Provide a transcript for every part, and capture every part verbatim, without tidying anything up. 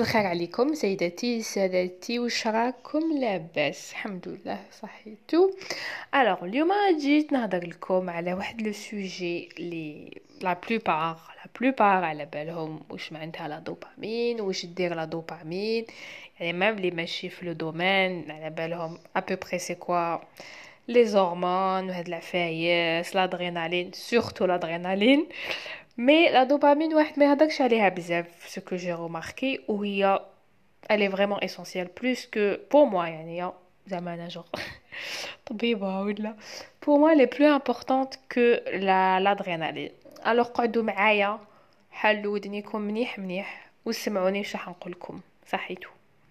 مساء الخير عليكم سيداتي سادتي، واش راكم؟ لاباس الحمد لله صحيتو. الوغ اليوم جيت نهضر لكم على واحد لو سوجي لي لا بلوبار لا بلوبار على بالهم واش معناتها لا دوبامين، واش دير لا دوبامين. يعني ميم لي ماشي في لو دومين على بالهم ابوبري سي كوا لي هرمون وهاد العفايس لادرينالين، سورتو لادرينالين. مي لا دوبامين واحد ما يهضرش عليها بزاف، ce que j'ai remarqué وهي elle est vraiment essentielle plus que pour moi. يعني زعما انا جور طبيبة ولا pour moi elle est plus importante que la l'adrénaline. alors قعدوا معايا حلوا ودنيكم منيح منيح وسمعوني واش راح نقول لكم. صحيتو.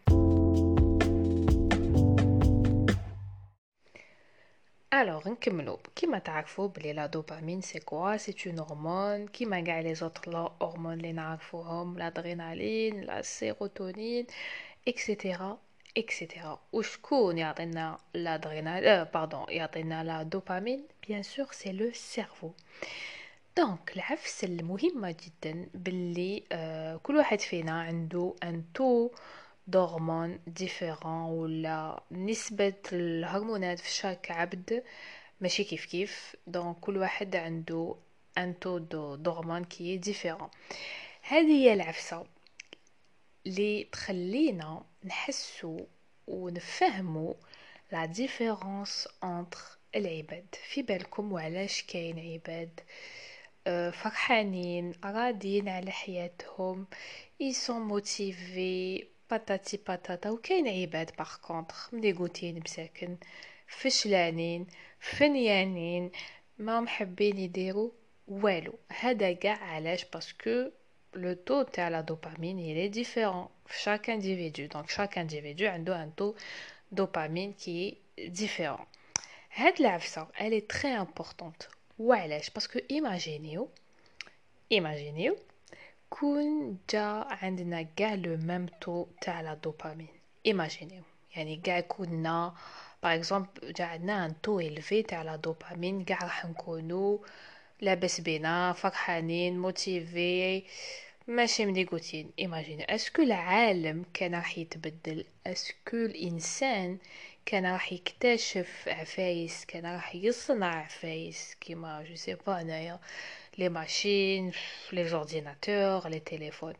Alors, نكملو كيما تعرفوا بلي لا دوبامين سي كوا سي اون هرمون كيما كاع لي زوتر لا هرمون اللي نعرفوهم، لادرينالين لا سيروتونين اكسيتيرا اكسيتيرا. وشكون يعطينا لادرينالين آه باردون يعطينا لا دوبامين؟ بيان سور سي لو سيرفو. دونك العفسه المهمه جدا باللي آه كل واحد فينا عنده ان تو دهرمون ديفيرون، ولا نسبة الهرمونات في شاك عبد ماشي كيف كيف. دونك كل واحد عنده ان تو دو دهرمون كي ديفيرون. هذه هي العفسة اللي تخلينا نحسو ونفهمو لا ديفيرونس انتر العباد. في بالكم وعلاش كاين عباد آه، فرحانين راضيين على حياتهم يسون موتيفي باتاتي باتاتا، وكاين عباد باغ كونطخ مليغوتين مساكن فشلانين فنيانين ما محبين يديروا والو. هذا كاع علاش؟ باسكو لو تو تاع لا دوبامين il est différent في chaque individu. donc chaque individu عنده un taux دوبامين qui est différent. هاد العفسه elle est très importante. وعلاش؟ باسكو ايماجينيو ايماجينيو كون جا عندنا كاع لو ميم تو تاع لا دوبامين. ايماجينيو يعني كاع كنا باغ اكزومبل جا عندنا ان تو الفي تاع لا دوبامين، كاع راح نكونوا لاباس بينا فرحانين موتيفي ماشي مليغوتين. ايماجيني اسكو العالم كان راح يتبدل، اسكو الانسان كان راح يكتشف عفايس، كان راح يصنع عفايس كيما جو سي با انايا لي ماشين لي زورديناتور لي تليفون.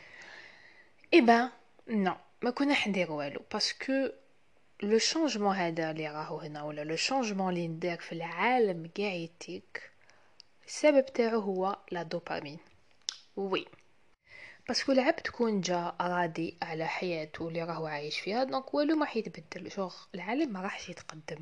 اي با نو ما كنا حندير والو، باسكو لو شانجمون هذا اللي راهو هنا ولا لو شانجمون اللي ندير في العالم كاع يتيك السبب تاعو هو لا دوبامين. وي باسكو العبد تكون جا راضي على حياته اللي راهو عايش فيها، دونك والو ما حيتبدل. شوخ العالم ما راحش يتقدم،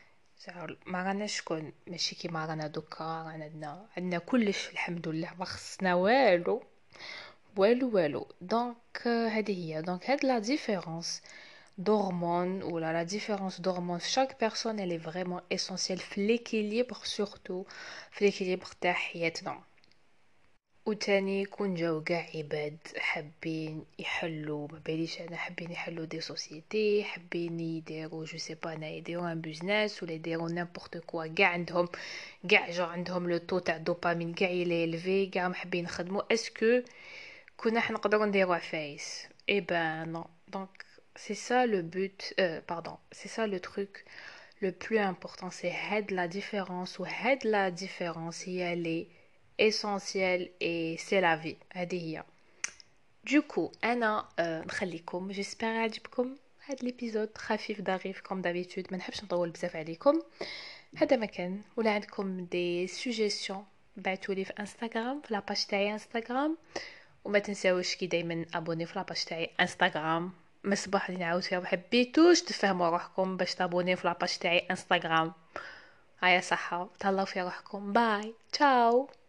ما راناش شكون ماشي كيما رانا دوكا، رانا عندنا عندنا كلش الحمد لله، ما خصنا والو والو والو. دونك هذه هي دونك هاد لا ديفيرونس d'hormones ou la, la différence d'hormones chaque personne elle est vraiment essentielle في l'équilibre surtout في l'équilibre تاع حياتنا. وتاني كون جاو كاع عباد حابين يحلوا ما باليش انا حابين يحلوا دي سوسيتي، حابين يديروا جو سي با انا يديروا ان بيزنس ولا يديروا نيمبورط كوا، كاع عندهم كاع جو عندهم لو تو تاع دوبامين كاع يلي ليفي، كاع محبين يخدموا. اسكو كنا حنقدروا نديروا عفايس؟ اي بان نو. دونك c'est ça le but euh, pardon c'est ça le truc le plus important, c'est had la différence ou had la différence هي اللي essentielle et c'est la vie. هذه هي. du coup انا euh, نخليكم جيسبر عجبكم هاد الابيزود خفيف ظريف كوم دابيتود، ما نحبش نطول بزاف عليكم. هذا مكان ولا عندكم دي سوجيستيون بعتولي في انستغرام في لاباج تاعي انستغرام، وما تنساوش كي دايما ابوني في لاباج تاعي انستغرام. مصباح اللي نعاود فيها محبيتوش تفهموا روحكم باش تابوني في لاباج تاعي انستغرام. هيا صحه تهلاو في روحكم. باي تشاو.